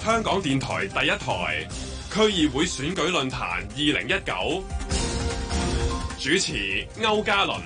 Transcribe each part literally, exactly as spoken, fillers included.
香港電台第一台區議會選舉論壇二零一九，主持歐嘉倫。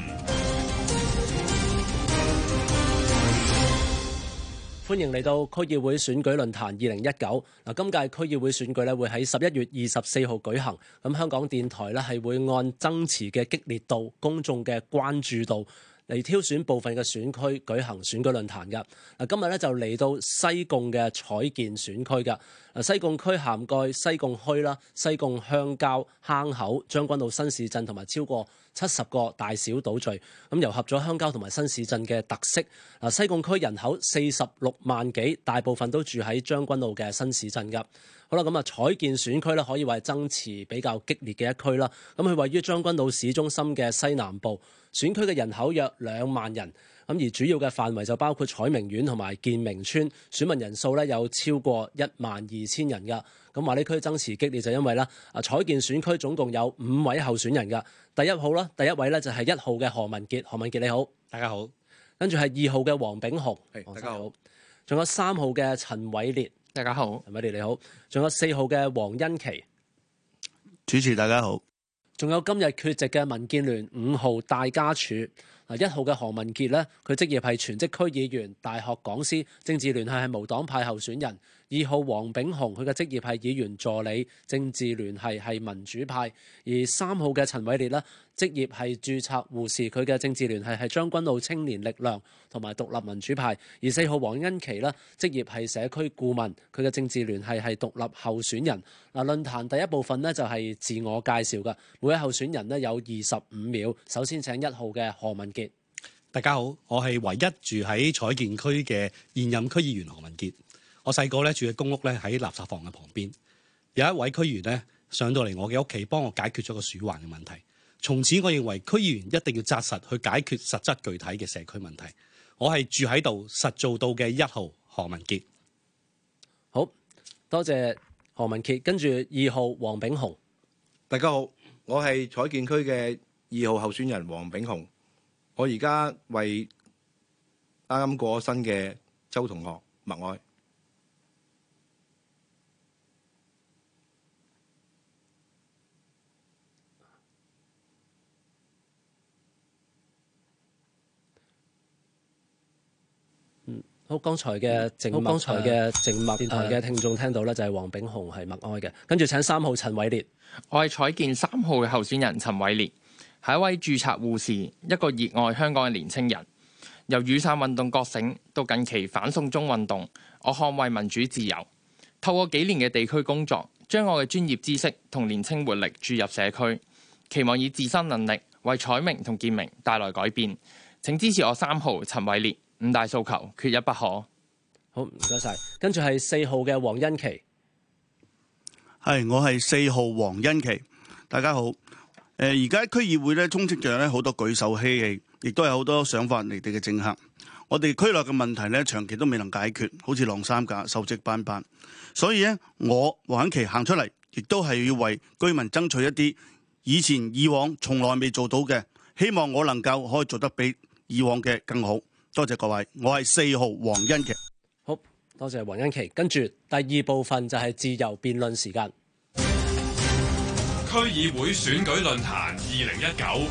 歡迎嚟到區議會選舉論壇二零一九。嗱，今屆區議會選舉咧會喺十一月二十四號舉行。咁香港電台咧係會按爭持嘅激烈度、公眾嘅關注度嚟挑選部分嘅選區舉行選舉論壇㗎。嗱，今日咧就嚟到西貢嘅彩建選區㗎。嗱，西貢區涵蓋西貢墟啦、西貢鄉郊、坑口、將軍澳新市鎮同埋超過七十個大小島嶼，咁糅合咗鄉郊同埋新市鎮嘅特色。嗱，西貢區人口四十六萬幾，大部分都住喺將軍澳嘅新市鎮㗎。好啦，咁啊，彩建選區咧可以話係爭持比較激烈嘅一區啦。咁佢位於將軍澳市中心嘅西南部，選區嘅人口約兩萬人。咁而主要嘅範圍就包括彩明苑同埋建明村，選民人數咧有超過一萬二千人㗎。咁話呢區爭持激烈就因為咧，啊彩建選區總共有五位候選人㗎。第一號啦，第一位咧就係一號嘅何文傑，何文傑你好， 大家好。 跟住係二號嘅黃炳雄， 係大家好。 仲有三號嘅陳偉烈， 大家好。 陳偉烈你好。仲有四號嘅黃欣琪， 主持大家好。 仲有今日缺席嘅民建聯五號戴家柱。嗱，一號嘅何文傑咧，佢職業係全職區議員、大學講師，政治聯繫係無黨派候選人。二號黃炳雄，佢嘅職業係議員助理，政治聯繫係民主派。而三號嘅陳偉烈咧，職業係註冊護士，佢嘅政治聯繫係將軍澳青年力量同埋獨立民主派。而四號黃欣琪咧，職業係社區顧問，佢嘅政治聯繫係獨立候選人。嗱，論壇第一部分呢，就係自我介紹㗎，每位候選人呢，有二十五秒。首先請一號嘅何文傑。 大家好，我係唯一住喺彩建區嘅現任區議員何文傑。我細個咧住嘅公屋咧喺垃圾房嘅旁邊，有一位區議員咧上到嚟我嘅屋企，幫我解決咗個鼠患嘅問題。從此我認為區議員一定要紮實去解決實質具體嘅社區問題。我係住喺度實做到嘅一號何文傑。 好多謝何文傑，跟住二號黃炳雄。 大家好，我係彩建區嘅二號候選人黃炳雄。我而家為啱啱過咗身嘅周同學默哀。 嗯，好，剛才嘅靜默，剛才嘅靜默，電台嘅聽眾聽到咧就係黃炳雄係默哀嘅。跟住請三號陳偉烈。 我係彩建三號嘅候選人陳偉烈。係一位註冊護士，一個熱愛香港嘅年青人。由雨傘運動覺醒到近期反送中運動，我捍衛民主自由。透過幾年嘅地區工作，將我嘅專業知識同年青活力注入社區，期望以自身能力為彩明同建明帶來改變。請支持我三號陳偉烈，五大訴求缺一不可。 好，唔該晒。跟住係四號嘅黃欣琪。 係，我係四號黃欣琪。大家好。誒，而家區議會咧充斥着咧好多舉手嬉戲，亦都有好多想法離地嘅政客。我哋區內嘅問題咧長期都未能解決，好似晾衫架、鏽跡斑斑。所以咧，我黃欣琪行出嚟，亦都係要為居民爭取一啲以前以往從來未做到嘅，希望我能夠可以做得比以往嘅更好。多謝各位，我係四號黃欣琪。 好，多謝黃欣琪。跟住第二部分就係自由辯論時間。 區議會選舉論壇二零一九，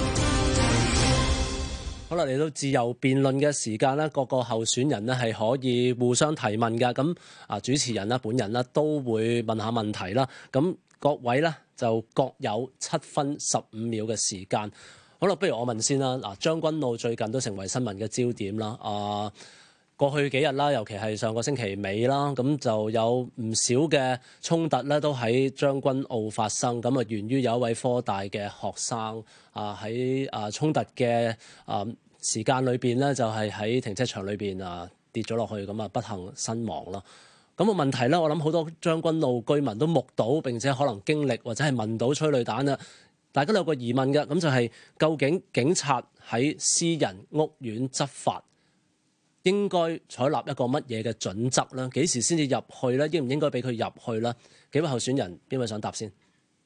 好啦，嚟到自由辯論嘅時間咧，各個候選人咧係可以互相提問㗎。咁啊，主持人啦、本人啦都會問下問題啦。咁各位咧就各有七分十五秒嘅時間。好啦，不如我問先啦。嗱，將軍澳最近都成為新聞嘅焦點啦。啊。過去幾日啦，尤其係上個星期尾啦，咁就有唔少嘅衝突咧，都喺將軍澳發生。咁啊，源於有一位科大嘅學生啊，喺啊衝突嘅啊時間裏邊咧，就係喺停車場裏邊啊跌咗落去，咁啊不幸身亡啦。咁個問題咧，我諗好多將軍澳居民都目睹並且可能經歷或者係聞到催淚彈啊，大家都有個疑問嘅，咁就係究竟警察喺私人屋苑執法，應該採納一個乜嘢嘅準則咧？幾時先至入去咧？應唔應該俾佢入去咧？幾位候選人，邊位想答先？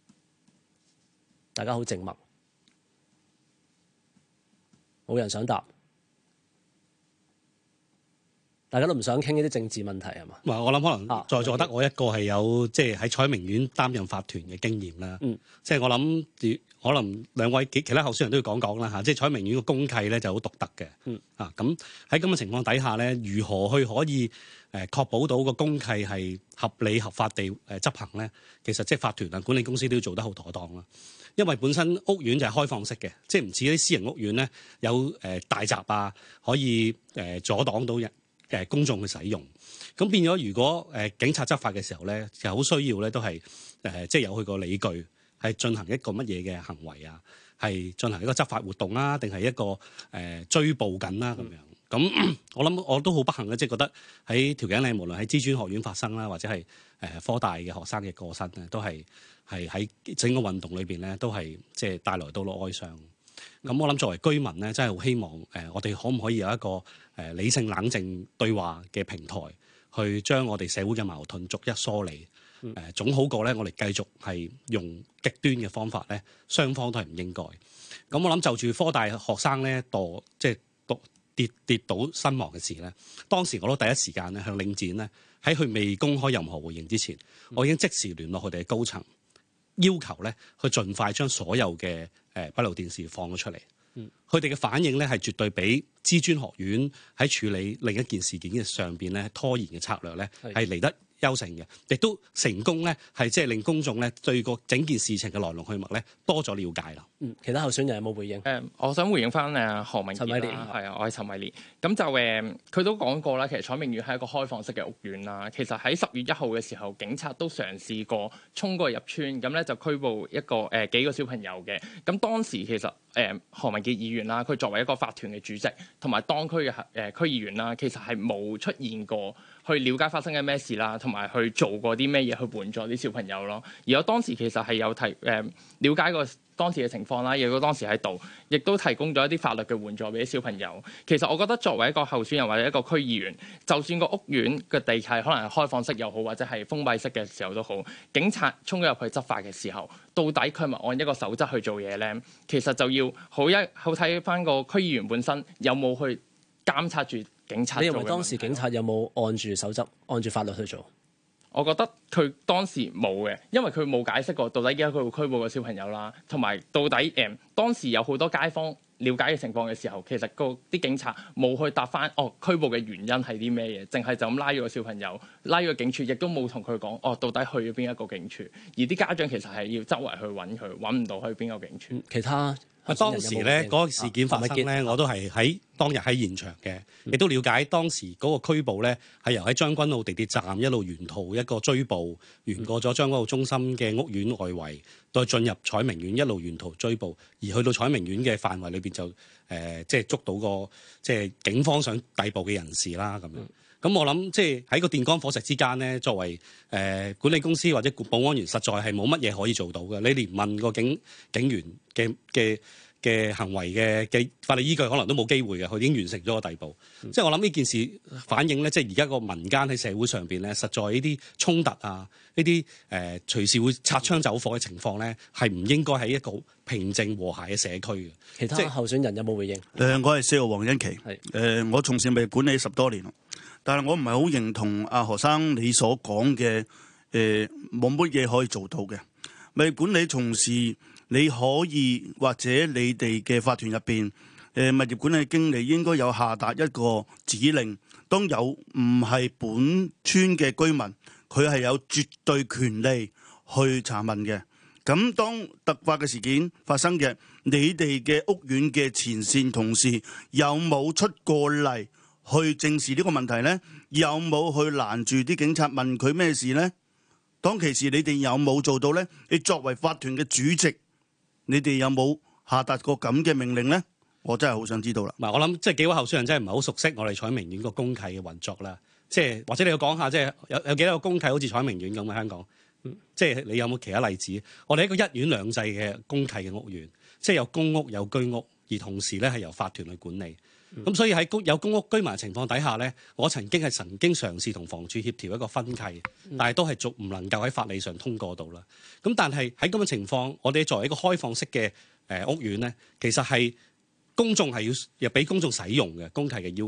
大家好靜默，冇人想答。 大家都唔想傾呢啲政治問題係嘛？ 唔係，我諗可能啊在座得我一個係有即係喺彩明苑擔任法團嘅經驗啦。 嗯， 即係我諗可能兩位其其他候選人都要講講啦嚇。即係彩明苑個公契咧就好獨特嘅。 嗯， 啊咁喺咁嘅情況底下咧，如何去可以誒確保到個公契係合理合法地誒執行咧？其實即係法團啊、管理公司都要做得好妥當啦。因為本身屋苑就係開放式嘅，即係唔似啲私人屋苑咧有誒大閘啊，可以誒阻擋到人誒公眾去使用。咁變咗，如果誒警察執法嘅時候咧，就好需要咧都係誒即係有佢個理據，係進行一個乜嘢嘅行為啊，係進行一個執法活動啊，定係一個誒追捕緊啦咁樣。咁我諗我都好不幸咧，即係覺得喺調景嶺，無論喺資專學院發生啦，或者係誒科大嘅學生嘅過身咧，都係係喺整個運動裏邊咧，都係即係帶來到咗哀傷。咁我諗作為居民咧，真係好希望誒，我哋可唔可以有一個誒理性冷靜對話嘅平台，去將我哋社會嘅矛盾逐一梳理。誒總好過咧，我哋繼續係用極端嘅方法咧，雙方都係唔應該。咁我諗就住科大學生咧墮即係墮跌跌倒身亡嘅事咧，當時我都第一時間咧向領展咧喺佢未公開任何回應之前，我已經即時聯絡佢哋嘅高層，要求咧去盡快將所有嘅誒閉路電視放咗出嚟。佢哋嘅反應咧係絕對比資專學院喺處理另一件事件嘅上邊咧拖延嘅策略咧係嚟得優勝嘅，亦都成功咧係即係令公眾咧對個整件事情嘅來龍去脈咧多咗了解啦。 嗯，其他候選人有冇回應？ 誒、嗯，我想回應翻誒何文傑啦，係啊，我係陳偉烈。咁就誒，佢、嗯、都講過啦，其實彩明苑係一個開放式嘅屋苑啦。其實喺十月一號嘅時候，警察都嘗試過衝過入村，咁咧就拘捕一個誒、呃、幾個小朋友嘅。咁當時其實誒、呃、何文傑議員啦，佢作為一個法團嘅主席，同埋當區嘅誒區議員啦，其實係冇出現過去了解發生緊咩事啦，同埋去做過啲咩嘢去援助啲小朋友咯。而我當時其實係有提誒、呃、了解過當時嘅情況啦，亦都當時喺度，亦都提供咗一啲法律嘅援助俾啲小朋友。其實我覺得作為一個候選人或者一個區議員，就算個屋苑嘅地契可能係開放式又好，或者係封閉式嘅時候都好，警察衝咗入去執法嘅時候，到底佢係咪按一個守則去做嘢咧？其實就要好一好睇翻個區議員本身有冇去監察住警察。 你認為當時警察有冇按住守則、按住法律去做？ 我覺得佢當時冇嘅，因為佢冇解釋過到底而家佢會拘捕個小朋友啦，同埋到底誒、呃、當時有好多街坊了解嘅情況嘅時候，其實個啲警察冇去答翻哦拘捕嘅原因係啲咩嘢，淨係就咁拉咗個小朋友，拉咗個警署，亦都冇同佢講哦到底去咗邊一個警署，而啲家長其實係要周圍去揾佢，揾唔到去邊個警署。 嗯、其他啊，當時咧嗰個事件發生咧，我都係喺當日喺現場嘅，亦都了解當時嗰個拘捕咧係由喺將軍澳地鐵站一路沿途一個追捕，沿過咗將軍澳中心嘅屋苑外圍，再進入彩明苑一路沿途追捕，而去到彩明苑嘅範圍裏邊就誒、呃、即係捉到個即係警方想逮捕嘅人士啦咁樣。咁、嗯、我諗即係喺個電光火石之間咧，作為誒、呃、管理公司或者保安員，實在係冇乜嘢可以做到嘅。你連問個警警員嘅嘅嘅行為嘅嘅法律依據，可能都冇機會嘅。佢已經完成咗個逮捕。嗯、即係我諗呢件事反映咧，即係而家個民間喺社會上邊咧，實在呢啲衝突啊，呢啲誒隨時會擦槍走火嘅情況咧，係唔應該喺一個平靜和諧嘅社區嘅。 其他候選人有冇回應？誒、 呃，我係四號黃欣琪。係誒是、呃，我從事物業管理十多年，但係我唔係好認同阿何生你所講嘅誒冇乜嘢可以做到嘅。物業管理從事，你可以或者你哋嘅法團入邊，誒、呃、物業管理經理應該有下達一個指令，當有唔係本村嘅居民，佢係有絕對權利去查問嘅。咁當突發嘅事件發生嘅，你哋嘅屋苑嘅前線同事有冇出過嚟去正視呢個問題呢？有冇去攔住啲警察問佢咩事呢？當其時你哋有冇做到呢？你作為法團嘅主席，你哋有冇下達過咁嘅命令呢？我真係好想知道啦。 唔係，我諗即係幾位候選人真係唔係好熟悉我哋彩明苑個公契嘅運作啦。即係或者你要講下，即係有有幾多個公契好似彩明苑咁嘅香港？嗯、即係你有冇其他例子？我哋一個一院兩制嘅公契嘅屋苑，即係有公屋有居屋，而同時咧係由法團去管理。咁、嗯、所以喺公有公屋居民嘅情況底下咧，我曾經係曾經嘗試同房署協調一個分契，但係都係逐唔能夠喺法理上通過到啦。咁但係喺咁嘅情況，我哋作為一個開放式嘅誒屋苑咧，其實係公眾係要又俾公眾使用嘅公契嘅要求。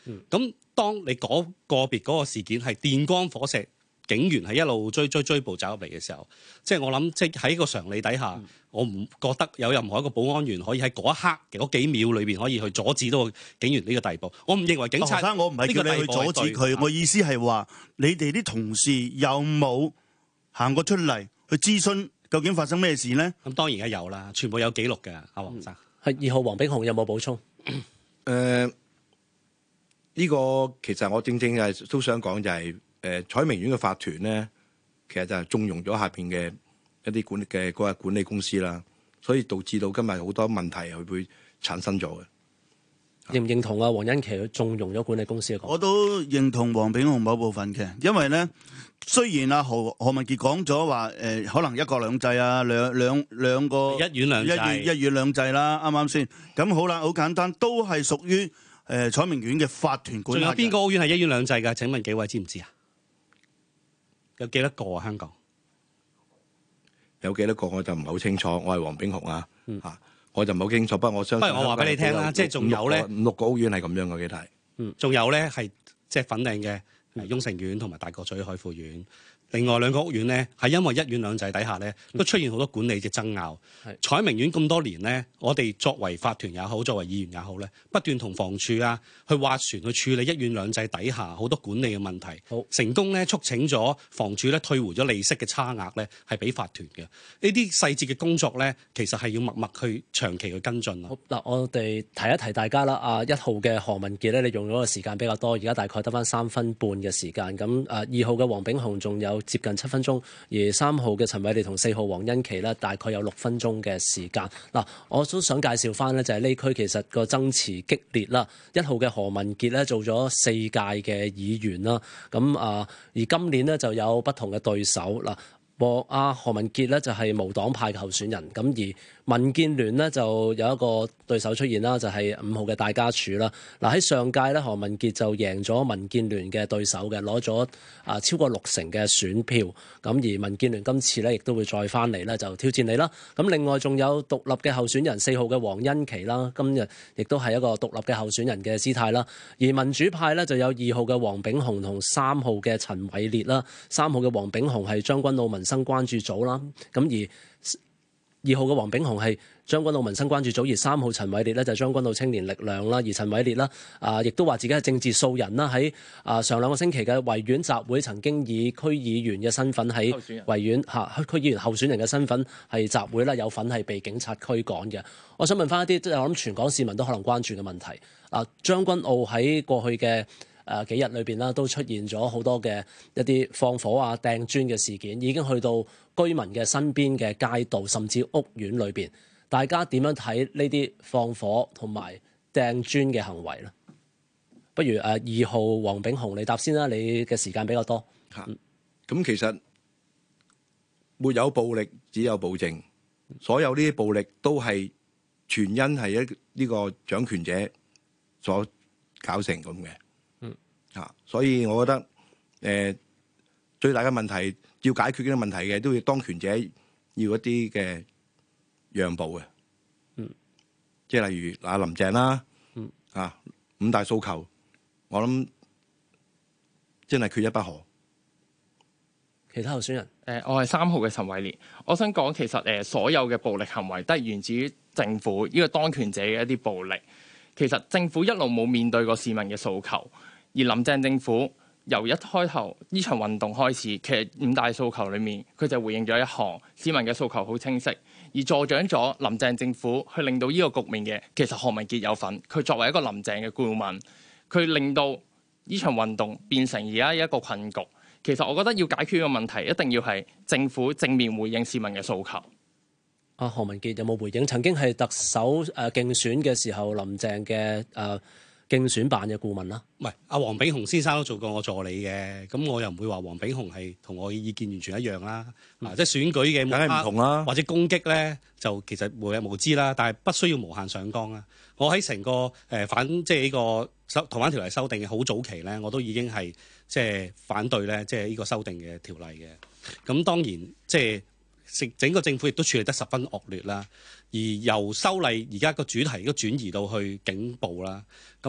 咁、嗯、當你嗰個別嗰個事件係電光火石，警員係一路追追追捕走入嚟嘅時候，即係我諗，即係喺個常理底下，嗯、我唔覺得有任何一個保安員可以喺嗰一刻嘅嗰幾秒裏邊可以去阻止到警員呢個地步。我唔認為警察。 學生，我唔係叫你去阻止佢，我意思係話你哋啲同事有冇行過出嚟去諮詢究竟發生咩事呢？ 咁當然係有啦，全部有記錄嘅。阿黃生， 係、嗯、二號黃炳雄有冇補充？誒、 呃，呢、呢個其實我正正係都想講就係、是。誒彩明苑嘅法團咧，其實就係縱容咗下邊嘅一啲管嘅嗰個管理公司啦，所以導致到今日好多問題係會產生咗嘅。 認唔認同啊？黃欣琦去縱容咗管理公司嘅講？ 我都認同黃炳雄某部分嘅，因為咧雖然阿何何文傑講咗話誒，可能一國兩制啊，兩兩兩個一院兩制， 一一院兩制啦，啱啱先？咁好啦，好簡單，都係屬於誒彩明苑嘅法團管理。 仲有邊個屋苑係一院兩制㗎？請問幾位知唔知啊？有幾多個啊？香港有幾多個我就唔係好清楚。我係黃炳雄啊，嚇、嗯、我就唔係好清楚。不過我相信， 不如我話俾你聽啦，即係仲有咧五六個屋苑係咁樣嘅，幾大？ 嗯，仲有咧係即係粉嶺嘅雍城苑同埋大角咀海富苑。另外兩個屋苑咧，係因為一院兩制底下咧，都出現好多管理嘅爭拗。係、嗯、彩明苑咁多年咧，我哋作為法團也好，作為議員也好咧，不斷同房署啊去斡旋去處理一院兩制底下好多管理嘅問題。好成功咧，促請咗房署咧退回咗利息嘅差額咧，係俾法團嘅。呢啲細節嘅工作咧，其實係要默默去長期去跟進啊。 好嗱，我哋提一提大家啦。啊，一號嘅何文傑咧，你用咗嘅時間比較多，而家大概得返三分半嘅時間。咁啊，二號嘅黃炳雄仲有接近七分鐘，而三號嘅陳偉烈同四號黃欣琦咧，大概有六分鐘嘅時間。嗱，我都想介紹翻咧，就係呢區其實個爭持激烈啦。一號嘅何文傑咧做咗四屆嘅議員啦，咁啊，而今年咧就有不同嘅對手嗱。和阿何文傑咧就係無黨派嘅候選人，咁而民建聯呢，就有一個對手出現啦，就係五號嘅戴家柱啦。嗱，喺上屆咧，何文傑就贏咗民建聯嘅對手嘅，攞咗啊超過六成嘅選票。咁而民建聯今次咧亦都會再翻嚟咧，就挑戰你啦。咁另外仲有獨立嘅候選人四號嘅黃欣琦啦，今日亦都係一個獨立嘅候選人嘅姿態啦。而民主派咧就有二號嘅黃炳雄同三號嘅陳偉烈啦。三號嘅黃炳雄係將軍澳民生關注組啦，咁而二號嘅黃炳雄係將軍澳民生關注組，而三號陳偉烈咧就係將軍澳青年力量啦，而陳偉烈啦啊，亦都話自己係政治素人啦，喺啊上兩個星期嘅維園集會曾經以區議員嘅身份喺維園嚇區議員候選人嘅身份係集會啦，有份係被警察驅趕嘅。我想問翻一啲即係我諗全港市民都可能關注嘅問題啊，將軍澳喺過去嘅誒、呃、幾日裏邊啦，都出現咗好多嘅一啲放火啊、掟磚嘅事件，已經去到居民嘅身邊嘅街道，甚至屋苑裏邊。大家點樣睇呢啲放火同埋掟磚嘅行為咧？不如誒、呃、二號黃炳雄你答先啦，你嘅時間比較多。嚇、 嗯，咁其實沒有暴力，只有暴政。所有呢啲暴力都係全因係一呢個掌權者所搞成咁嘅。啊，所以我覺得誒、呃、最大嘅問題要解決呢個問題嘅，都要當權者要一啲嘅讓步嘅，嗯，即係例如嗱林鄭啦，嗯啊五大訴求，我諗真係缺一不可。 其他候選人，誒、 呃，我係三號嘅陳偉烈，我想講其實誒、呃、所有嘅暴力行為都係源自於政府呢、這個當權者嘅一啲暴力。其實政府一路冇面對過市民嘅訴求。而林鄭政府由一開頭呢場運動開始，其實五大訴求裏面，佢就回應咗一項市民嘅訴求好清晰，而助長咗林鄭政府去令到呢個局面嘅，其實何文傑有份。佢作為一個林鄭嘅顧問，佢令到呢場運動變成而家一個困局。其實我覺得要解決呢個問題，一定要係政府正面回應市民嘅訴求。 阿何文傑有冇回應？曾經係特首誒競選嘅時候，林鄭嘅誒。呃競選辦嘅顧問啦， 唔係阿黃炳雄先生都做過我助理嘅，咁我又唔會話黃炳雄係同我嘅意見完全一樣啦。嗯、啊，即係選舉嘅梗係唔同啦， 或者攻擊咧，就其實無日無知啦，但係不需要無限上綱啦。我喺成個誒、呃、反即係呢個修逃犯條例修訂嘅好早期咧，我都已經係即係反對咧，即係呢個修訂嘅條例嘅。咁當然即係整整個政府亦都處理得十分惡劣啦。而由修例而家個主題都轉移到去警暴啦，咁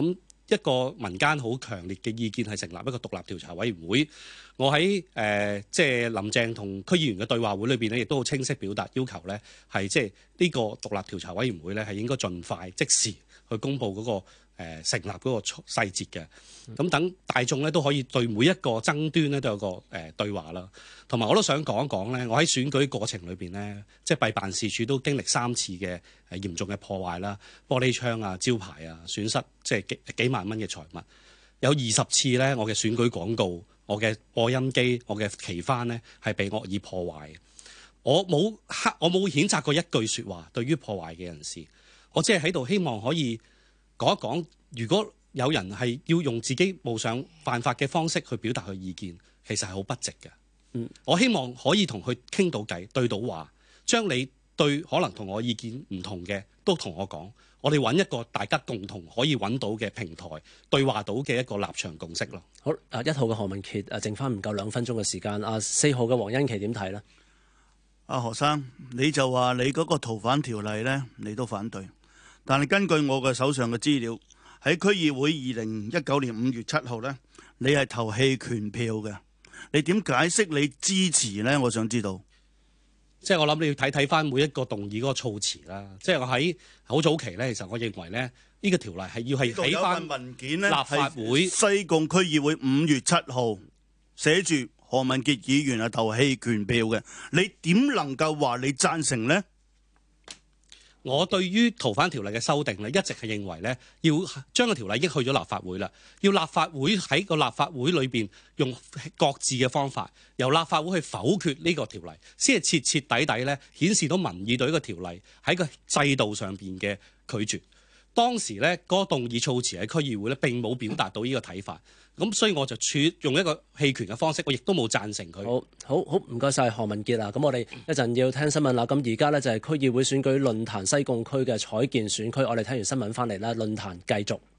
一個民間好強烈嘅意見係成立一個獨立調查委員會。我喺誒即係林鄭同區議員嘅對話會裏邊咧，亦都好清晰表達要求咧，係即係呢個獨立調查委員會咧係應該盡快即時去公布嗰、那個。誒成立嗰個細節嘅，咁等大眾咧都可以對每一個爭端咧都有個誒、呃、對話啦。同埋我都想講一講咧，我喺選舉過程裏邊咧，即係弊辦事處都經歷三次嘅誒嚴重嘅破壞啦，玻璃窗啊、招牌啊，損失即係幾幾萬蚊嘅財物。有二十次咧，我嘅選舉廣告、我嘅播音機、我嘅旗幡咧係被惡意破壞。我冇黑，我冇譴責過一句説話對於破壞嘅人士，我只係喺度希望可以講一講，如果有人係要用自己冒上犯法嘅方式去表達佢意見，其實係好不值嘅。嗯，我希望可以同佢傾到偈，對到話，將你對可能同我意見唔同嘅都同我講，我哋揾一個大家共同可以揾到嘅平台，對話到嘅一個立場共識咯。 好，啊一號嘅何文傑，啊剩翻唔夠兩分鐘嘅時間，啊四號嘅黃欣琦點睇呢？ 阿何生，你就話你嗰個逃犯條例呢，你都反對。但係根據我嘅手上嘅資料，喺區議會二零一九年五月七號呢，你係投棄權票嘅。你點解釋你支持呢？我想知道。 即係我諗你要睇睇翻每一個動議嗰個措辭啦。即係我喺好早期呢，其實我認為呢，呢、呢個條例係要係喺翻文件呢， 立法會西貢區議會五月七號寫住何文傑議員係投棄權票嘅。你點能夠話你贊成呢？ 我對於逃犯條例嘅修訂咧，一直係認為咧，要將個條例已經去咗立法會啦，要立法會喺個立法會裏邊用各自嘅方法，由立法會去否決呢個條例，先係徹徹底底咧顯示到民意對呢個條例喺個制度上邊嘅拒絕。當時咧嗰個動議措辭喺區議會咧並冇表達到呢個睇法，咁所以我就處用一個棄權嘅方式，我亦都冇贊成佢。 好，好，好，唔該晒何文傑啊！咁我哋一陣要聽新聞啦。咁而家呢，就係區議會選舉論壇西貢區嘅彩建選區，我哋聽完新聞翻嚟啦，論壇繼續。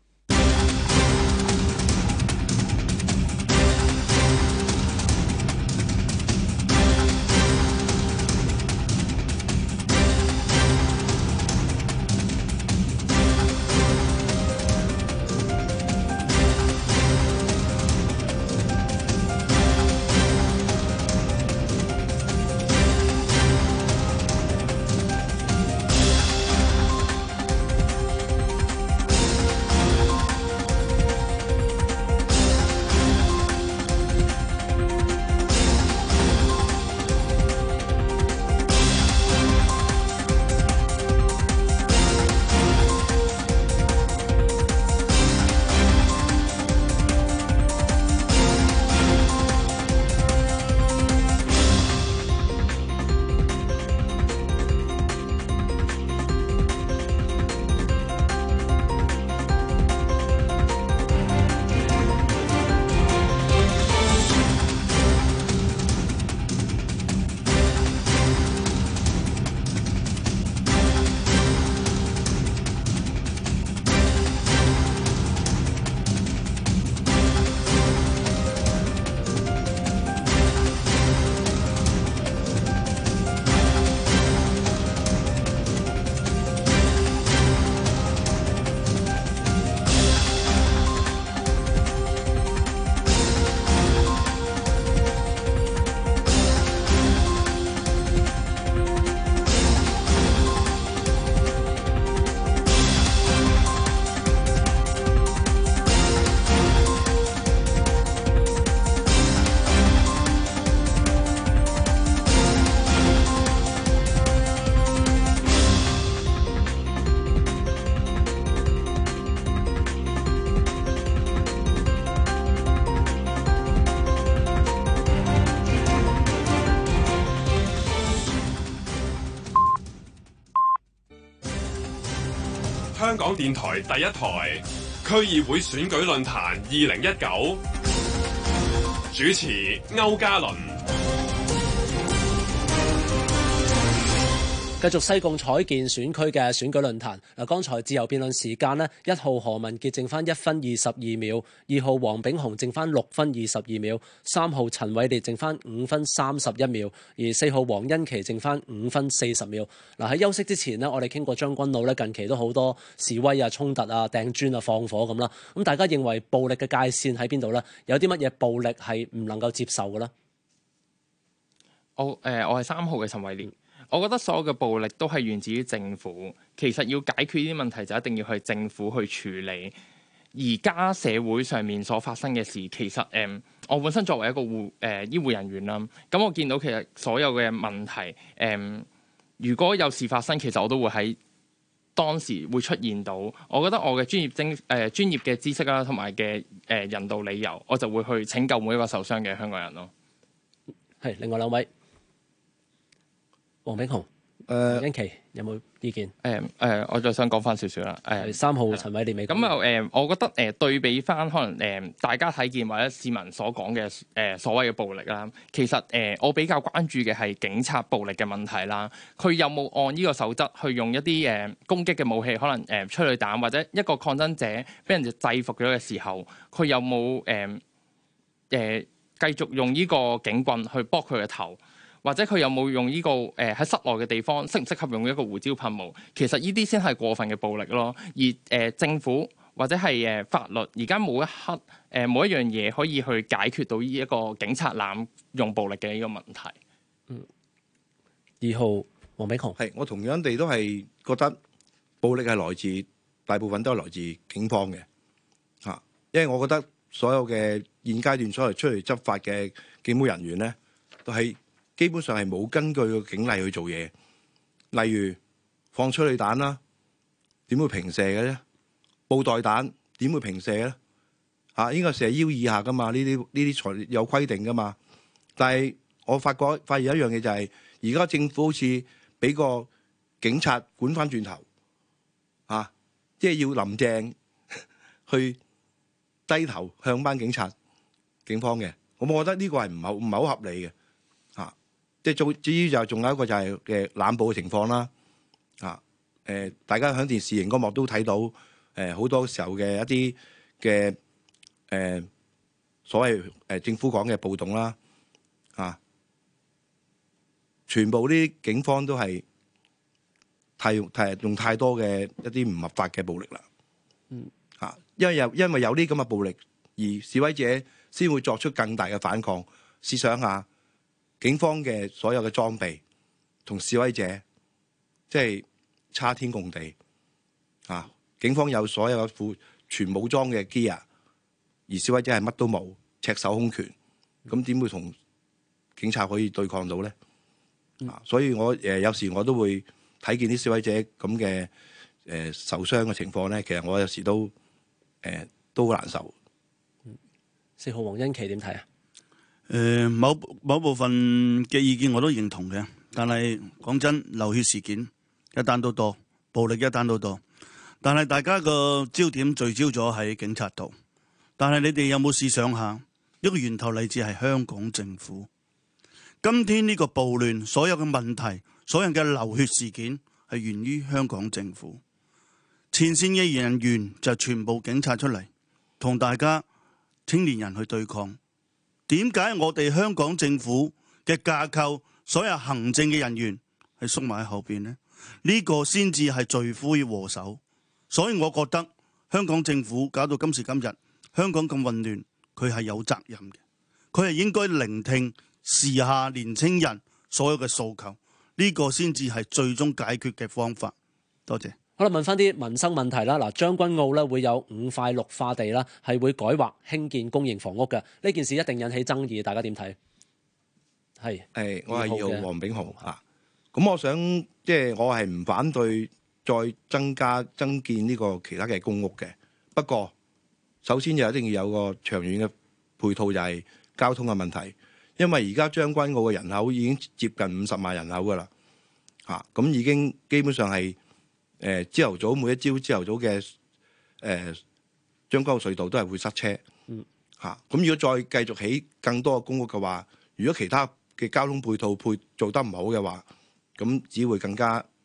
香港電台第一台區議會選舉論壇二零一九，主持歐嘉倫。 繼續西貢彩建選區嘅選舉論壇。嗱，剛才自由辯論時間呢，一號何文傑剩翻一分二十二秒，二號黃炳雄剩翻六分二十二秒，三號陳偉烈剩翻五分三十一秒，而四號黃欣琪剩翻五分四十秒。嗱，喺休息之前呢，我哋傾過將軍澳呢，近期都好多示威啊、衝突啊、掟磚啊、放火咁啦。咁大家認為暴力嘅界線喺邊度呢？有啲乜嘢暴力係唔能夠接受嘅呢？ 我誒、呃，我係三號嘅陳偉烈。我覺得所有嘅暴力都係源自於政府。其實要解決呢啲問題，就一定要去政府去處理。而家社會上面所發生嘅事，其實誒、呃，我本身作為一個護誒、呃、醫護人員啦，咁我見到其實所有嘅問題，誒、呃，如果有事發生，其實我都會喺當時會出現到。我覺得我嘅專業精誒、呃、專業嘅知識啦，同埋嘅誒人道理由，我就會去拯救每一個受傷嘅香港人咯。係， 另外兩位。黃炳雄、 誒黃欣琪有冇意見？ 誒誒、呃呃，我再想講翻少少啦。誒、呃， 三號陳偉烈未講。 咁又誒，我覺得誒、呃、對比翻可能誒、呃、大家睇見或者市民所講嘅誒所謂嘅暴力啦，其實誒、呃、我比較關注嘅係警察暴力嘅問題啦。佢有冇按呢個守則去用一啲誒、呃、攻擊嘅武器，可能誒、呃、催淚彈或者一個抗爭者俾人哋制服咗嘅時候，佢有冇誒誒繼續用呢個警棍去搏佢嘅頭？或者佢有冇用呢、這個誒喺、呃、室內嘅地方適唔適合用一個胡椒噴霧？其實呢啲先係過分嘅暴力咯。而誒、呃、政府或者係誒、呃、法律而家冇一刻誒冇、呃、一樣嘢可以去解決到呢一個警察濫用暴力嘅呢個問題。 嗯，二號黃炳雄係我同樣地都係覺得暴力係來自大部分都係來自警方嘅嚇，因為我覺得所有嘅現階段所謂出嚟執法嘅警務人員咧，都係。基本上係冇根據個警例去做嘢，例如放催淚彈啦，點會平射嘅咧？布袋彈點會平射咧？啊，應該射腰以下噶嘛？呢啲呢啲材有規定噶嘛？但係我發覺發現一樣嘢就係、是，而家政府好似俾個警察管翻轉頭，啊，即係要林鄭去低頭向班警察、警方嘅。咁我覺得呢個係唔係唔係好合理嘅。即係做，至於就仲有一個就係嘅濫捕嘅情況啦，啊，誒、呃，大家喺電視熒光幕都睇到，誒、呃，好多時候嘅一啲嘅誒所謂誒、呃、政府講嘅暴動啦，啊，全部啲警方都係太用太用太多嘅一啲唔合法嘅暴力啦，嗯，啊，因為有因為有啲咁嘅暴力，而示威者先會作出更大嘅反抗。試想下。警方嘅所有嘅裝備同示威者即係差天共地啊！警方有所有嘅副全武裝嘅 gear，而示威者係乜都冇，赤手空拳，咁點會同警察可以對抗到咧？啊！所以我誒、呃、有時我都會睇見啲示威者咁嘅誒受傷嘅情況咧，其實我有時都誒、呃、都好難受。 四號黃欣琪點睇啊？ 誒、呃，某某部分嘅意見我都認同嘅，但係講真，流血事件一單都多，暴力一單都多，但係大家個焦點聚焦咗喺警察度，但係你哋有冇試想下，一個源頭嚟自係香港政府。今天呢個暴亂，所有嘅問題，所有嘅流血事件係源於香港政府，前線嘅人員就全部警察出嚟，同大家青年人去對抗。點解我哋香港政府嘅架構，所有行政嘅人員係縮埋喺後邊呢？呢、呢個先至係罪魁禍首。所以我覺得香港政府搞到今時今日，香港咁混亂，佢係有責任嘅。佢係應該聆聽時下年青人所有嘅訴求，呢、呢個先至係最終解決嘅方法。多謝。 好啦，問翻啲民生問題啦。嗱，將軍澳咧會有五塊綠化地啦，係會改劃興建公營房屋嘅。呢件事一定引起爭議，大家點睇？係， 誒，我係二號黃炳雄啊。咁我想即係我係唔反對再增加增建呢個其他嘅公屋嘅。不過首先就一定要有個長遠嘅配套，就係交通嘅問題。因為而家將軍澳嘅人口已經接近五十萬人口噶啦，嚇咁已經基本上係。誒朝頭早每一朝朝頭早嘅誒將軍澳隧道都係會塞車，嚇咁、嗯啊、如果再繼續起更多嘅公屋嘅話，如果其他嘅交通配套配做得唔好嘅話，咁只會更加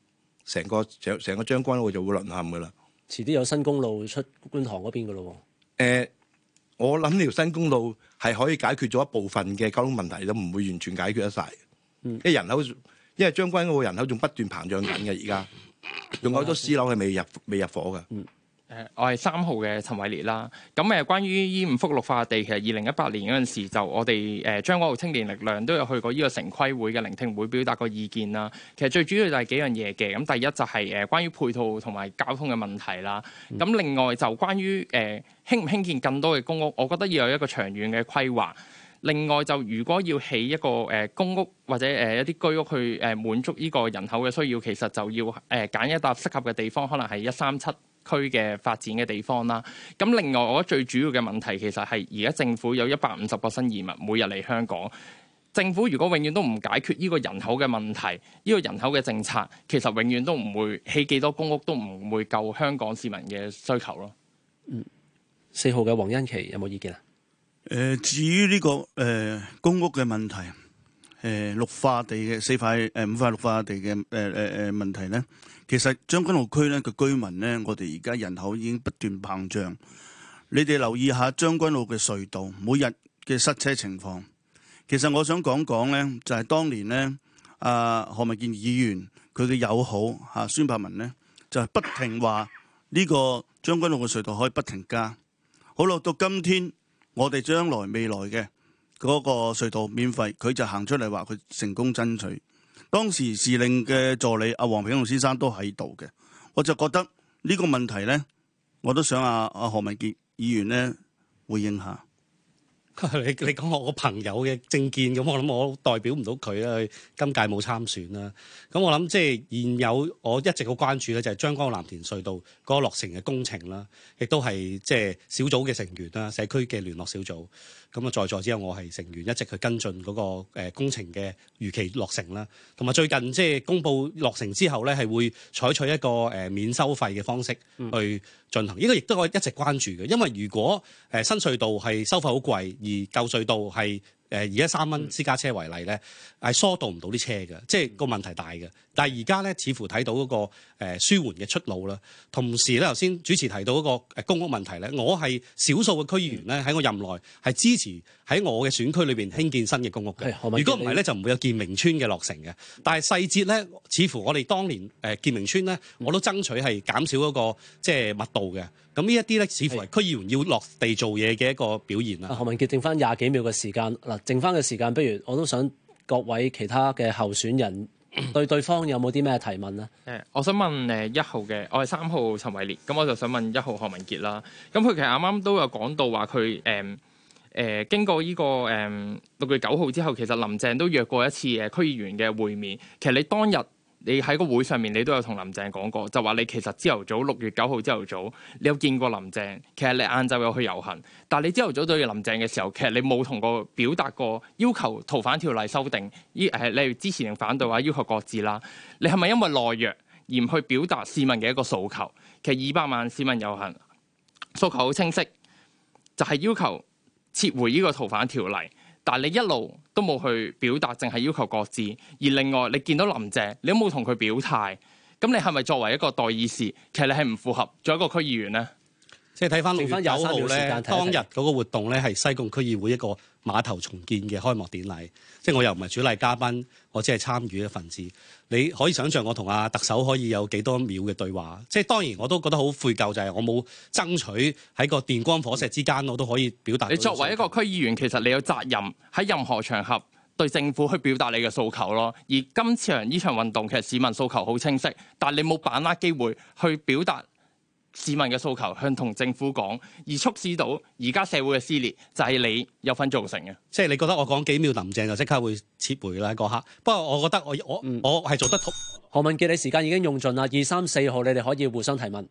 成個成成個將軍澳就會淪陷噶啦。 遲啲有新公路出觀塘嗰邊噶咯誒、呃，我諗呢條新公路係可以解決咗一部分嘅交通問題，都唔會完全解決得晒。 嗯， 因為人口，因為將軍澳人口仲不斷膨脹緊嘅，而家仲有好多私樓係未入未入伙嘅。 嗯。 誒，我係三號嘅陳偉烈啦。咁誒，關於依五幅綠化地，其實二零一八年嗰陣時就我哋誒將軍澳青年力量都有去過呢個城規會嘅聆聽會，表達過意見啦。其實最主要就係幾樣嘢嘅。咁第一就係誒關於配套同埋交通嘅問題啦。咁、嗯、另外就關於誒興唔興建更多嘅公屋，我覺得要有一個長遠嘅規劃。另外就如果要起一個誒公屋或者誒一啲居屋去誒滿足呢個人口嘅需要，其實就要誒揀一笪適合嘅地方，可能係一三七區嘅發展嘅地方啦。咁另外，我覺得最主要嘅問題其實係而家政府有一百五十個新移民每日嚟香港。政府如果永遠都唔解決呢個人口嘅問題，呢個人口嘅政策，其實永遠都唔會起幾多公屋，都唔會夠香港市民嘅需求咯。 嗯，四號嘅黃欣琪有冇意見啊？ 誒、呃，至於呢、這個誒、呃、公屋嘅問題，誒、呃、綠化地嘅四塊誒、呃、五塊綠化地嘅誒誒誒問題咧。其實將軍澳區咧嘅居民咧，我哋而家人口已經不斷膨脹。你哋留意下將軍澳嘅隧道每日嘅塞車情況。其實我想講講咧，就係、是、當年咧，阿何文健議員佢嘅友好嚇、啊、孫柏文咧，就係、是、不停話呢個將軍澳嘅隧道可以不停加。好啦，到今天我哋將來未來嘅嗰個隧道免費，佢就行出嚟話佢成功爭取。當時時令嘅助理阿黃炳雄先生都喺度嘅，我就覺得呢個問題咧，我都想阿阿何文傑議員咧回應下。 你你講我個朋友嘅政見，咁我諗我代表唔到佢啦，今屆冇參選啦。咁我諗即係現有我一直好關注咧，就係將軍澳藍田隧道嗰個落成嘅工程啦，亦都係即係小組嘅成員啦，社區嘅聯絡小組。咁啊，在座之後我係成員，一直去跟進嗰個誒工程嘅如期落成啦。同埋最近即係公佈落成之後咧，係會採取一個誒免收費嘅方式去進行。呢個亦都我一直關注嘅，因為如果誒新隧道係收費好貴，而舊隧道係誒而家三蚊私家車為例咧，係疏導唔到啲車嘅，即係個問題大嘅。但係而家咧，似乎睇到嗰個誒舒緩嘅出路啦。同時咧，頭先主持提到嗰個誒公屋問題咧，我係少數嘅區議員咧，喺我任內係支持喺我嘅選區裏邊興建新嘅公屋嘅。如果唔係咧，就唔會有建明村嘅落成嘅。但係細節咧，似乎我哋當年誒建明村咧，我都爭取係減少嗰個即係密度嘅。咁呢一啲咧，似乎係區議員要落地做嘢嘅一個表現啦。 何文傑，剩翻廿幾秒嘅時間，嗱，剩翻嘅時間，不如我都想各位其他嘅候選人對對方有冇啲咩提問呢？ 誒，我想問誒一號嘅，我係三號陳偉烈，咁我就想問一號何文傑啦。咁佢其實啱啱都有講到話佢誒誒經過呢、這個誒六月九號之後，其實林鄭都約過一次誒區議員嘅會面。其實你當日你喺個會上面，你都有同林鄭講過，就話你其實朝頭早六月九號朝頭早，你有見過林鄭。其實你晏晝有去遊行，但係你朝頭早對林鄭嘅時候，其實你冇同過表達過要求逃犯條例修訂，依誒例如支持定反對話要求擱置啦。你係咪因為懦弱而唔去表達市民嘅一個訴求？其實二百萬市民遊行訴求好清晰，就係、是、要求撤回呢個逃犯條例。但係你一路都冇去表達，淨係要求擱置。而另外，你見到林鄭，你都冇同佢表態。咁你係咪作為一個代議士，其實你係唔符合做一個區議員呢？ 即係睇翻六月九號咧， 看看當日嗰個活動咧係西貢區議會一個碼頭重建嘅開幕典禮。即係我又唔係主禮嘉賓，我只係參與一份子。你可以想象我同阿特首可以有幾多秒嘅對話。即係當然我都覺得好悔疚，就係我冇爭取喺個電光火石之間，我都可以表達。 你作為一個區議員，其實你有責任喺任何場合對政府去表達你嘅訴求咯。而今次場呢場運動，其實市民訴求好清晰，但係你冇把握機會去表達市民嘅訴求，向同政府講，而促使到而家社會嘅撕裂，就係、是、你有份造成嘅。 即係你覺得我講幾秒林鄭就即刻會撤回啦嗰刻。不過我覺得我我、嗯、我係做得。 何文傑，你時間已經用盡啦。二三四號，你哋可以互相提問。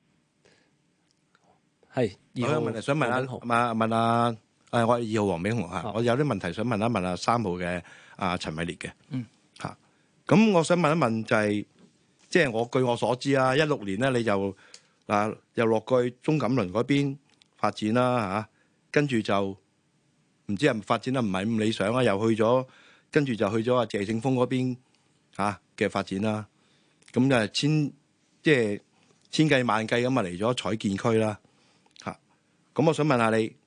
係二號， 問想問下問問阿誒，我係二號黃炳雄嚇，哦、我有啲問題想問一問阿三號嘅阿陳偉烈嘅。嗯嚇，咁我想問一問就係、是，即係我據我所知啊，一六年咧你就。嗱，又落去鍾錦麟嗰邊發展啦嚇，跟住就唔知係咪發展得唔係咁理想啊，又去咗，跟住就去咗阿謝霆鋒嗰邊嚇嘅發展啦。咁就千即係千計萬計咁啊嚟咗彩建區啦嚇。咁我想問下你，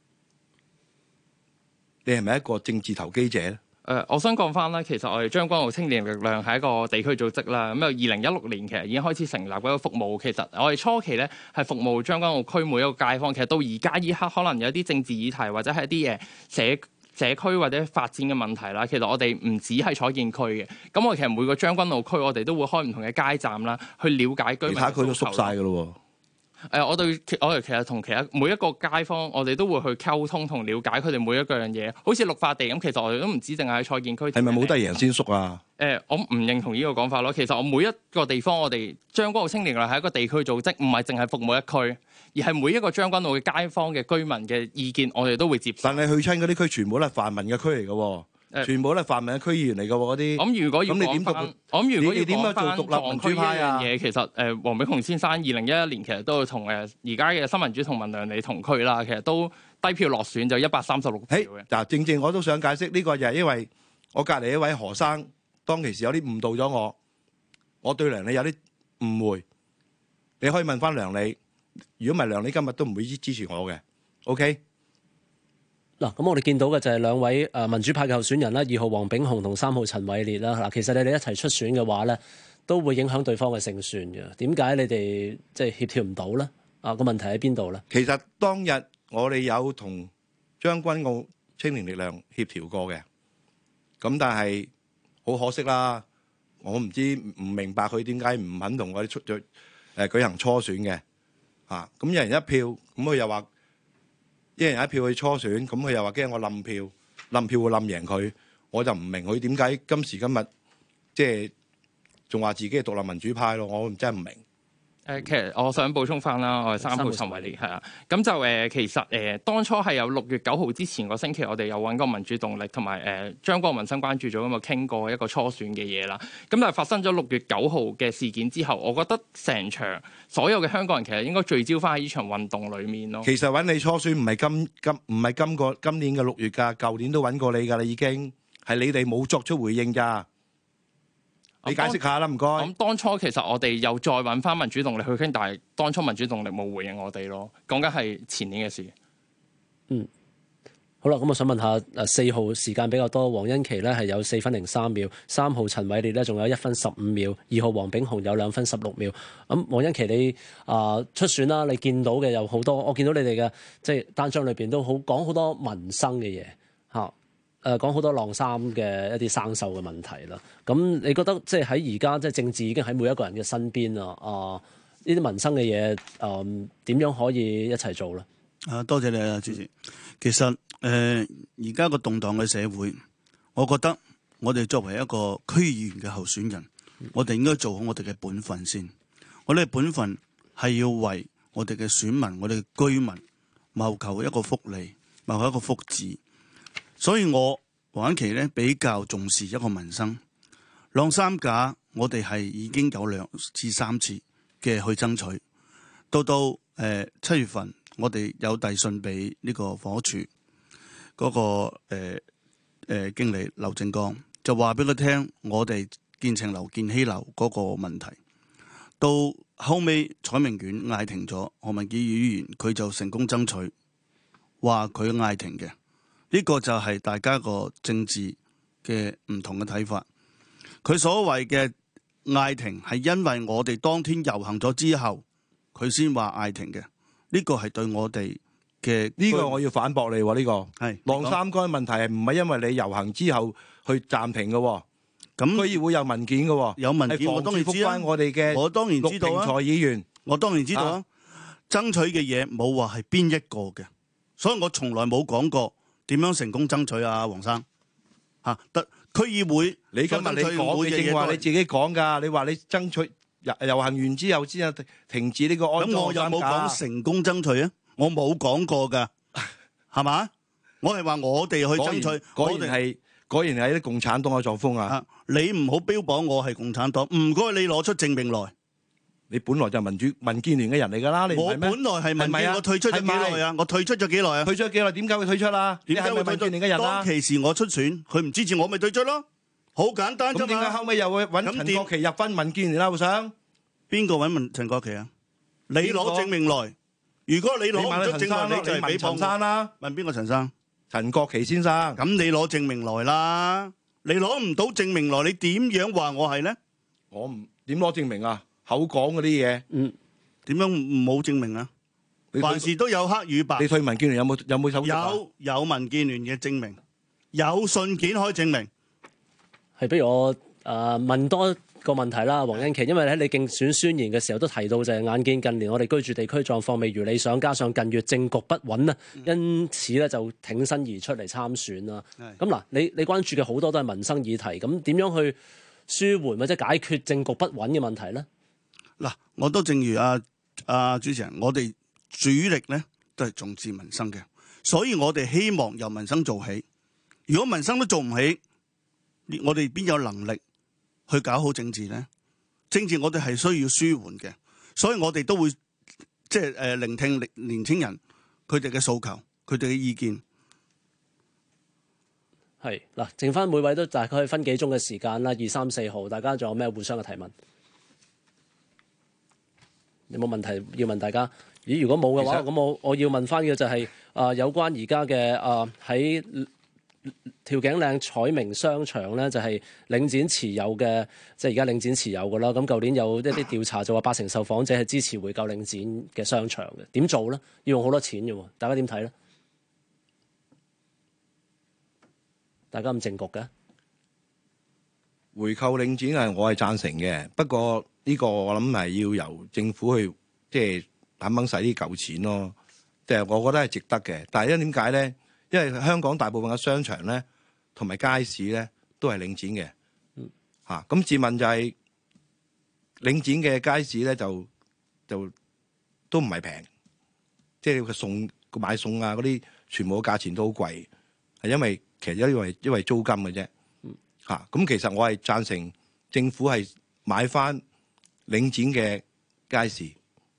你係咪一個政治投機者咧？ 誒、呃，我想講翻啦，其實我哋將軍澳青年力量係一個地區組織啦。咁由二零一六年其實已經開始成立嗰個服務。其實我哋初期咧係服務將軍澳區每一個街坊。其實到而家依刻，可能有啲政治議題或者係一啲嘢社社區或者發展嘅問題啦。其實我哋唔止係彩建區嘅。咁我其實每個將軍澳區，我哋都會開唔同嘅街站啦，去了解居民。 其他區都縮晒㗎咯喎。 誒、呃，我對我哋其實同其他每一個街坊，我哋都會去溝通同了解佢哋每一個樣嘢。好似綠化地咁，其實我哋都唔止淨係喺彩建區。 係咪冇得贏先縮啊？ 誒、呃，我唔認同呢個講法咯。其實我每一個地方，我哋將軍澳青年力量係一個地區組織，唔係淨係服務一區，而係每一個將軍澳嘅街坊嘅居民嘅意見，我哋都會接受。 但係去親嗰啲區，全部都係泛民嘅區嚟嘅喎。全部都係泛民嘅區議員嚟嘅喎，嗰啲。咁如果要講翻，我諗如果要講翻撞區呢樣嘢，其實誒黃炳雄先生二零一一年其實都同誒而家嘅新民主同盟梁利同區啦，其實都低票落選就一百三十六票嘅。嗱，正正我都想解釋呢個就係因為我隔離一位何生當其時有啲誤導咗我，我對梁利有啲誤會。你可以問翻梁利，如果唔係梁利今日都唔會支持我嘅。OK。 嗱，咁我哋見到嘅就係兩位誒民主派嘅候選人啦，二號黃炳雄同三號陳偉烈啦。嗱，其實你哋一齊出選嘅話咧，都會影響對方嘅勝算嘅。點解你哋即係協調唔到咧？啊，個問題喺邊度咧？ 其實當日我哋有同將軍澳青年力量協調過嘅，咁但係好可惜啦，我唔知唔明白佢點解唔肯同我哋出咗誒舉行初選嘅嚇。咁一人一票，咁佢又話。一人一票去初選，咁佢又話驚我冧票，冧票會冧贏佢，我就唔明佢點解今時今日即係仲話自己係獨立民主派咯，我真係唔明。 誒，其實我想補充翻啦，我係三號陳偉烈，係啊，咁就誒，其實誒，當初係有六月九號之前個星期，我哋有揾過民主動力同埋誒將軍澳民生關注組咁啊傾過一個初選嘅嘢啦。咁但係發生咗六月九號嘅事件之後，我覺得成場所有嘅香港人其實應該聚焦翻喺呢場運動裡面咯。 其實揾你初選唔係今今唔係今個今年嘅六月㗎，舊年都揾過你㗎啦，已經係你哋冇作出回應咋。你解釋下啦，唔該。 咁當初其實我哋又再揾翻民主動力去傾，但係當初民主動力冇回應我哋咯。講緊係前年嘅事。 嗯，好啦，咁我想問下誒四號時間比較多，黃欣琪咧係有四分零三秒，三號陳偉烈咧仲有一分十五秒，二號黃炳雄有兩分十六秒。咁黃欣琪你啊、呃、出選啦，你見到嘅有好多，我見到你哋嘅即係單張裏邊都好講好多民生嘅嘢嚇。誒講好多晾衫嘅一啲生鏽嘅問題啦，咁你覺得即係喺而家即係政治已經喺每一個人嘅身邊啊？啊，呢啲民生嘅嘢誒點樣可以一齊做咧？ 啊，多謝你啊，主持。其實誒而家個動盪嘅社會，我覺得我哋作為一個區議員嘅候選人，我哋應該做好我哋嘅本分先。我哋嘅本分係要為我哋嘅選民、我哋嘅居民謀求一個福利，謀求一個福祉。所以我黃欣琪咧比較重視一個民生，晾衫架我哋係已經有兩至三次嘅去爭取，到到誒七月份我哋有遞信俾呢個房屋署嗰、那個誒誒、呃呃、經理劉正剛，就話俾佢聽我哋建程樓建希樓嗰個問題，到後尾彩明苑嗌停咗，何文傑議員佢就成功爭取，話佢嗌停嘅。呢個就係大家個政治嘅唔同嘅睇法。佢所謂嘅嗌停係因為我哋當天遊行咗之後，佢先話嗌停嘅。呢個係對我哋嘅呢個我要反駁你喎。呢個係晾衫桿問題係唔係因為你遊行之後去暫停嘅？咁區議會有文件嘅， 有文件我當然知啦。 我哋嘅我當然知道啊。 議員， 我當然知道啊。爭取嘅嘢冇話係邊一個嘅，所以我從來冇講過。點樣成功爭取啊，黃生嚇？得區議會， 你今日你講嘅正話你自己講㗎。你話你爭取遊遊行完之後先停止呢個安裝。咁我有冇講成功爭取啊？我冇講過㗎，係嘛？我係話我哋去爭取。果然係果然係啲共產黨嘅作風啊！你唔好標榜我係共產黨，唔該你攞出證明來。你本來就係民主民建聯嘅人嚟㗎啦，你唔係咩？我本來係民建，我退出咗幾耐啊？我退出咗幾耐啊？退出咗幾耐？點解會退出啊？點解會民建聯嘅人啊？當其時我出選，佢唔支持我，咪退出咯，好簡單啫嘛。咁點解後尾又會揾陳國旗入翻民建聯啦？會想邊個揾問陳國旗啊？你攞證明來。如果你攞唔出證明，你就係俾陳生啦。問邊個陳生？ 陳國旗先生。 咁你攞證明來啦。你攞唔到證明來，你點樣話我係咧？ 我唔點攞證明啊？口講嗰啲嘢， 嗯， 點樣冇證明啊？凡事都有黑與白。 你退民建聯有冇有冇手續啊？ 有有民建聯嘅證明，有信件可以證明。 係，不如我誒、呃、問多個問題啦，黃欣琦，因為喺你競選宣言嘅時候都提到就係眼見近年我哋居住地區狀況未如理想，加上近月政局不穩啊，因此咧就挺身而出嚟參選啦。咁嗱、嗯，你你關注嘅好多都係民生議題，咁點樣去舒緩或者解決政局不穩嘅問題咧？ 嗱，我都正如阿、啊、阿、啊、主持人，我哋主力咧都係重視民生嘅，所以我哋希望由民生做起。如果民生都做唔起，我哋邊有能力去搞好政治咧？政治我哋係需要舒緩嘅，所以我哋都會即係誒聆聽年青人佢哋嘅訴求，佢哋嘅意見。 係嗱，剩翻每位都大概可以分幾鐘嘅時間啦，二三四號，大家仲有咩互相嘅提問？有冇問題要問大家？咦，如果冇嘅話，咁我我要問翻嘅就係、是、啊、呃，有關而家嘅啊喺調景嶺彩明商場咧，就係、是、領展持有嘅，即係而家領展持有嘅啦。咁舊年有一啲調查就話八成受訪者係支持回購領展嘅商場嘅，點做咧？要用好多錢嘅喎，大家點睇咧？大家咁正局嘅回購領展係我係贊成嘅，不過呢個我諗係要由政府去即係肯肯使啲舊錢咯，即係我覺得係值得嘅。但係因為點解咧？因為香港大部分嘅商場咧同埋街市咧都係領展嘅，嚇、嗯。咁、啊、自問就係、是、領展嘅街市咧就就都唔係平，即係佢送買餸啊嗰啲全部嘅價錢都好貴，係因為其實因為因為租金嘅啫，嚇、嗯。咁、啊、其實我係贊成政府係買翻領展嘅街市。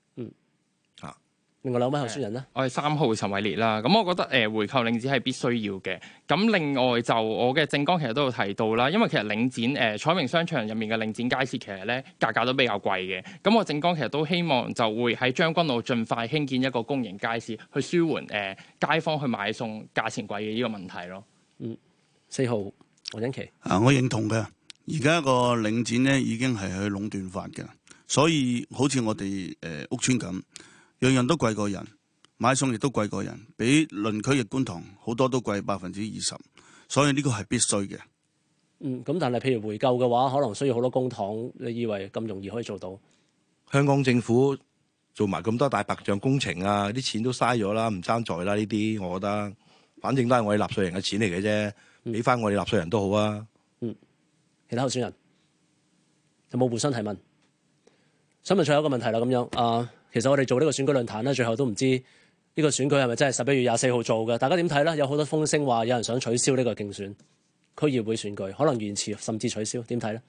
另外兩位候選人咧， 我係三號陳偉烈啦。咁我覺得誒、呃、回購領展係必須要嘅。咁另外就我嘅政綱其實都有提到啦，因為其實領展誒、呃、彩明商場入面嘅領展街市其實咧價格都比較貴嘅。咁我政綱其實都希望就會喺將軍澳盡快興建一個公營街市，去舒緩誒、呃、街坊去買餸價錢貴嘅呢個問題咯。 嗯，四號黃欣琦啊，我認同嘅。而家個領展咧已經係去壟斷法嘅，所以好似我哋誒、呃、屋邨咁。樣樣都貴過人，買餸亦都貴過人，比鄰區嘅觀塘好多都貴百分之二十，所以呢個係必須嘅。 嗯，咁但係譬如回購嘅話，可能需要好多公帑，你以為咁容易可以做到？香港政府做埋咁多大白象工程啊，啲錢都嘥咗啦，唔爭在啦呢啲，我覺得，反正都係我哋納稅人嘅錢嚟嘅啫，俾翻我哋納稅人都好啊。 嗯，其他候選人有冇互相提問？想問最後一個問題啦，咁樣啊。呃其實我哋做呢個選舉論壇咧，最後都唔知呢個選舉係咪真係十一月廿四號做嘅？大家點睇咧？有好多風聲話有人想取消呢個競選區議會選舉，可能延遲甚至取消，點睇咧？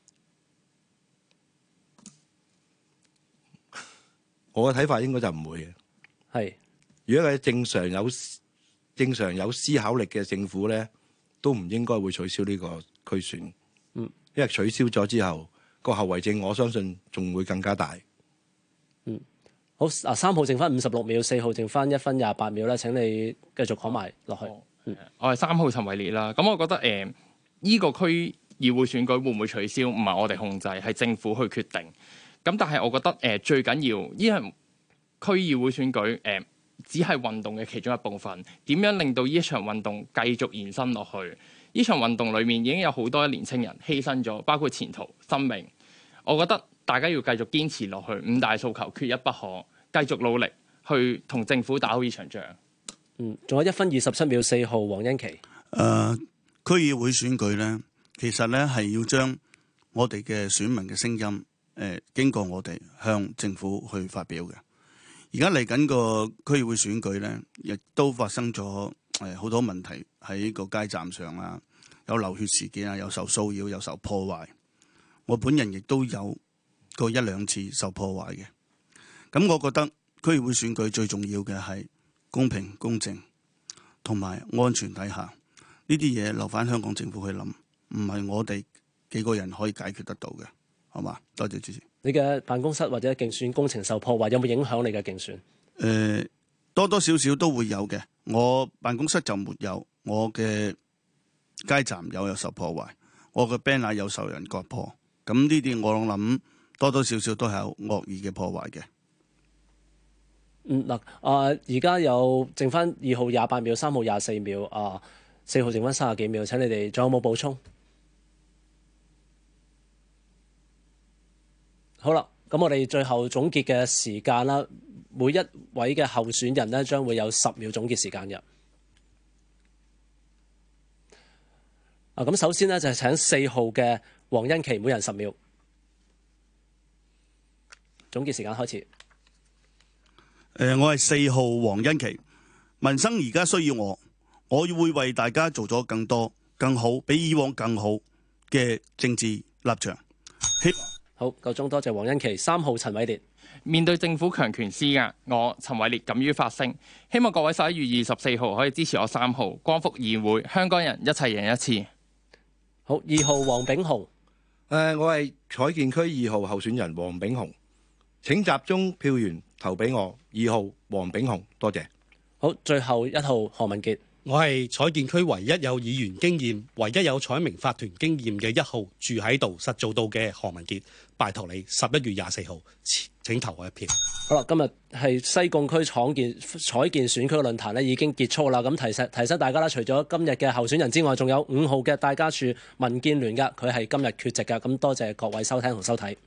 我嘅睇法應該就唔會嘅。 係， 如果係正常有正常有思考力嘅政府咧，都唔應該會取消呢個區選。嗯，因為取消咗之後，個後遺症我相信仲會更加大。 嗯，好啊，三號剩翻五十六秒，四號剩翻一分廿八秒咧，請你繼續講埋落去。嗯， 我係三號陳偉烈啦。咁我覺得誒，依、呃呢個區議會選舉會唔會取消，唔係我哋控制，係政府去決定。咁但係我覺得誒、呃、最緊要，呢場區議會選舉誒、呃，只係運動嘅其中一部分。點樣令到呢一場運動繼續延伸落去？呢場運動裡面已經有好多年青人犧牲咗，包括前途、生命。我覺得大家要繼續堅持落去，五大訴求缺一不可，繼續努力去同政府打好呢場仗。 嗯，仲有一分二十七秒，四號黃欣琦。誒、 呃，區議會選舉咧，其實咧係要將我哋嘅選民嘅聲音，誒、呃，經過我哋向政府去發表嘅。而家嚟緊個區議會選舉咧，亦都發生咗誒好多問題喺個街站上啊，有流血事件啊，有受騷擾，有受破壞。我本人亦都有過一兩次受破壞嘅，咁我覺得區議會選舉最重要嘅係公平公正同埋安全底下，呢啲嘢留返香港政府去諗，唔係我哋幾個人可以解決得到嘅。 好嘛？多謝主持。 你嘅辦公室或者競選工程受破壞，有冇影響你嘅競選？ 誒、呃，多多少少都會有嘅。我辦公室就沒有，我嘅街站有有受破壞，我嘅 banner 有受人割破。咁呢啲我諗多多少少都係有惡意嘅破壞嘅。 嗯嗱，啊而家有剩翻二號廿八秒，三號廿四秒，啊四號剩翻三十幾秒，請你哋仲有冇補充？好啦，咁我哋最後總結嘅時間啦，每一位嘅候選人呢，將會有十秒總結時間嘅。啊，咁首先呢，就係請四號嘅黃欣琪，每人十秒。總結時間開始。誒、 呃，我係四號黃欣琪，民生而家需要我，我會為大家做咗更多、更好、比以往更好嘅政治立場。希好，夠鐘，多謝黃欣琪。三號陳偉烈， 面對政府強權施壓，我陳偉烈敢於發聲，希望各位十一月二十四號可以支持我三號光復議會，香港人一齊贏一次。 好，二號黃炳雄， 誒、呃，我係彩建區二號候選人黃炳雄，請集中票源投俾我二號黃炳雄，多謝。 好，最後一號何文傑。 我係彩建區唯一有議員經驗、唯一有彩明法團經驗嘅一號，住喺度實做到嘅何文傑，拜託你十一月廿四號請投我一票。 好啦，今日係西貢區廠建彩建選區論壇咧已經結束啦。咁提醒提醒大家啦，除咗今日嘅候選人之外，仲有五號嘅戴家柱民建聯㗎，佢係今日缺席㗎。咁多謝各位收聽同收睇。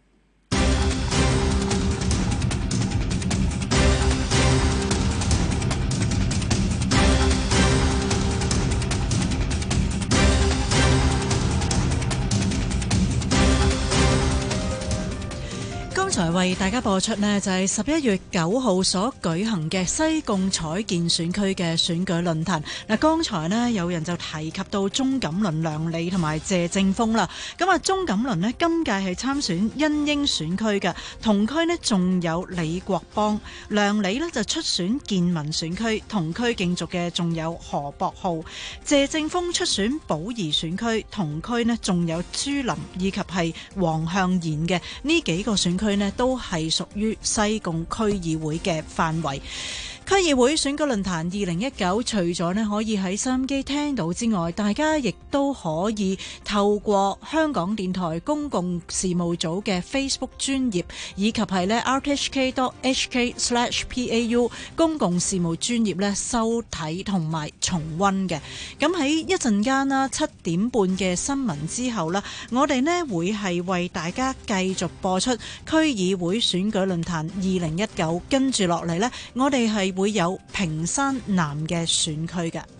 剛才為大家播出呢，就係十一月九號所舉行嘅西貢彩建選區嘅選舉論壇。嗱，剛才呢，有人就提及到鍾錦麟、梁理同埋謝正峰啦。咁啊，鍾錦麟呢，今屆係參選欣英選區嘅，同區呢仲有李國邦。梁理呢就出選建民選區，同區競逐嘅仲有何博浩。謝正峰出選寶儀選區，同區呢仲有朱琳以及係黃向賢嘅。呢幾個選區呢都係屬於西貢區議會嘅範圍。區議會選舉論壇二零一九，除咗呢可以喺收音機聽到之外，大家亦都可以透過香港電台公共事務組嘅 Facebook 專頁，以及係呢 r t h k dot h k slash p a u 公共事務專頁呢收睇同埋重溫嘅。咁喺一陣間啦，七點半嘅新聞之後啦，我哋呢會係為大家繼續播出區議會選舉論壇二零一九，跟住落嚟呢，我哋係會有屏山南嘅選區嘅。